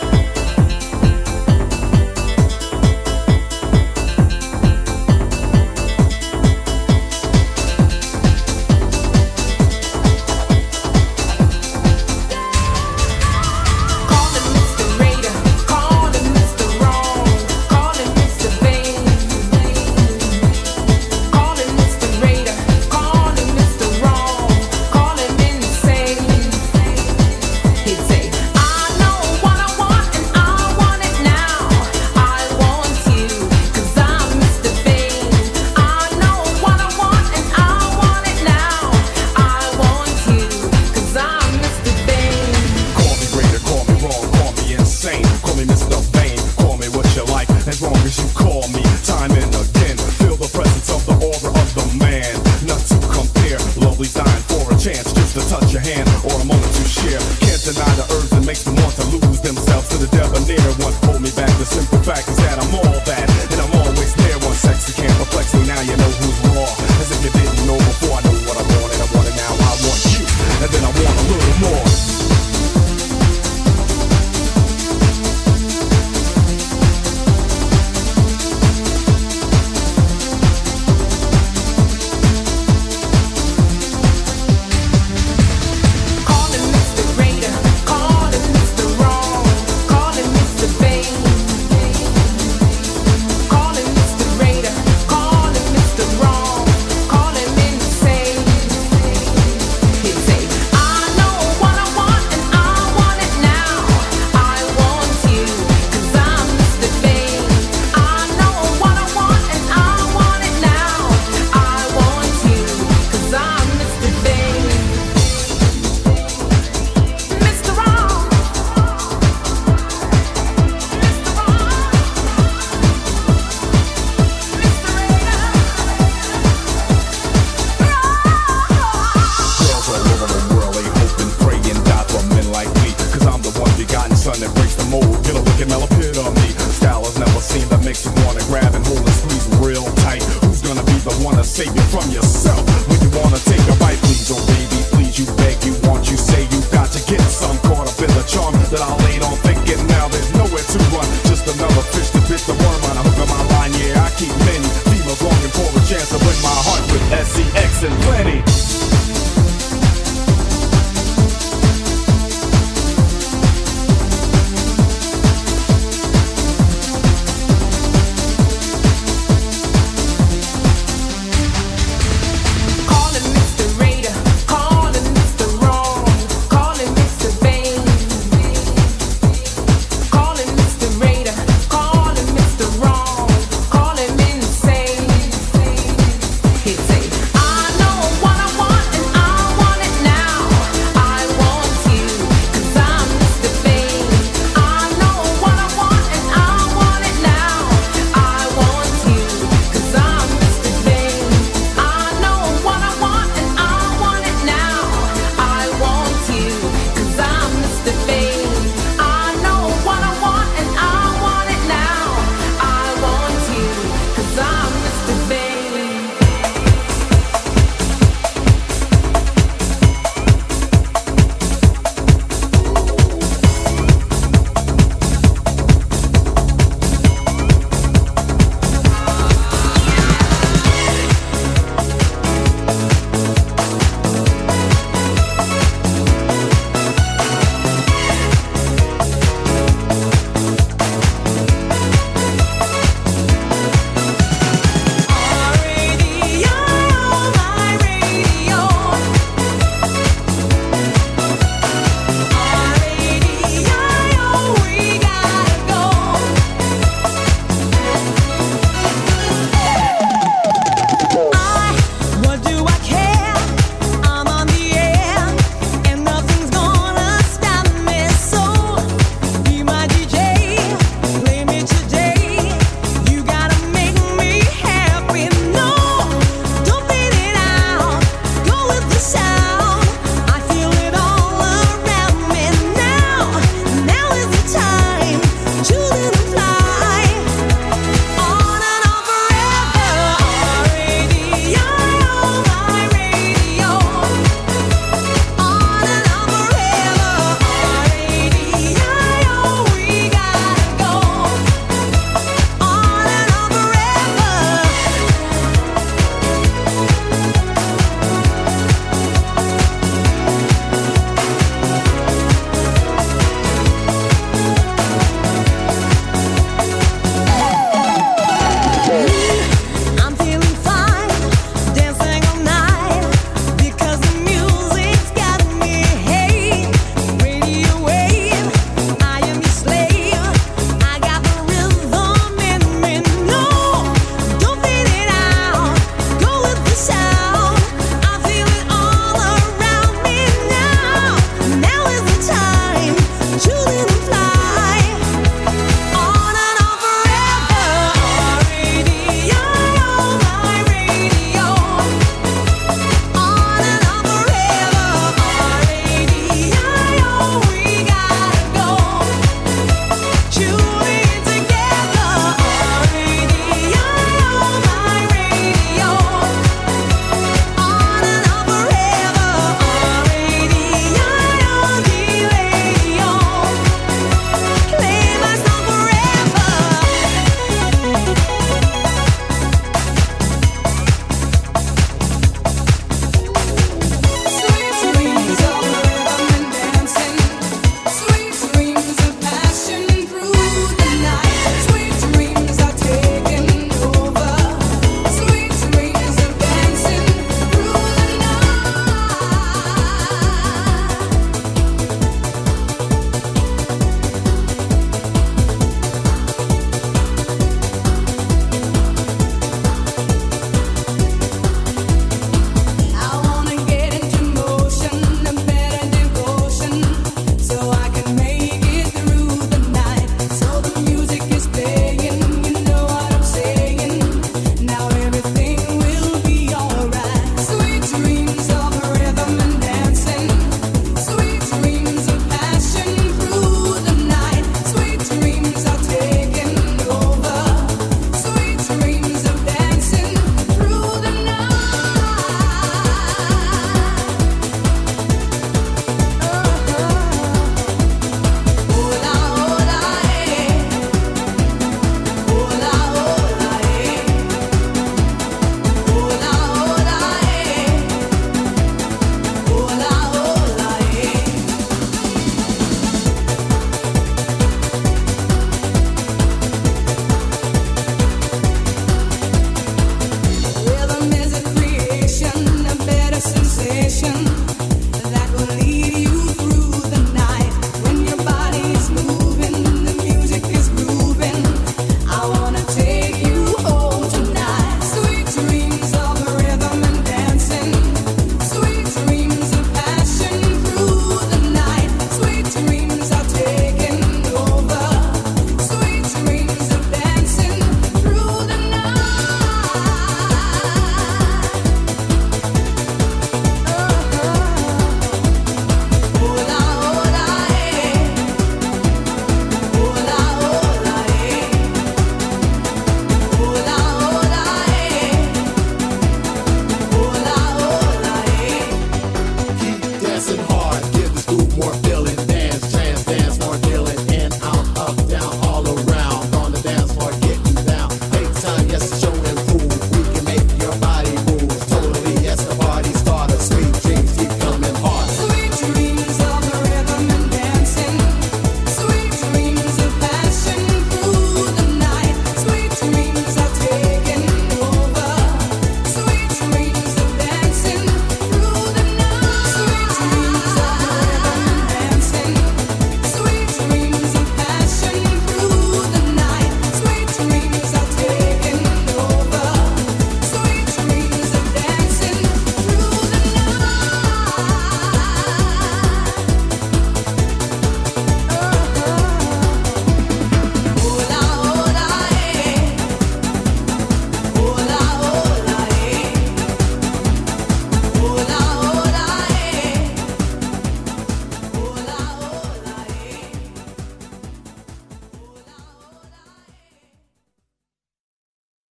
Calling Mister Raider, calling Mister Wrong, calling Mister Vain. Calling Mister Raider, calling Mister Wrong, calling insane. He'd say, I know what I want and I want it now. I want you, cause I'm Mister Vain. I know what I want and I want it now. I want you, cause I'm Mister Vain. Call me greater, call me wrong, call me insane. Call me Mister Vain, call me what you like, as long as you call me time and again. Feel the presence of the aura of the man, not to compare. Lovely's dying for a chance just to touch your hand or a moment to share. Can't deny the urge that makes them want to lose themselves to the debonair one. Hold me back, the simple fact is that I'm all that makes you wanna grab and hold and squeeze real tight. Who's gonna be the one to save you from yourself when you wanna take a bite? Please, oh baby, please, you beg, you want, you say you got to get some. Caught up in the charm that I laid on thinking now there's nowhere to run. Just another fish to bit the worm on a hook of my line. Yeah, I keep many females longing for a chance to win my heart with S E X and plenty.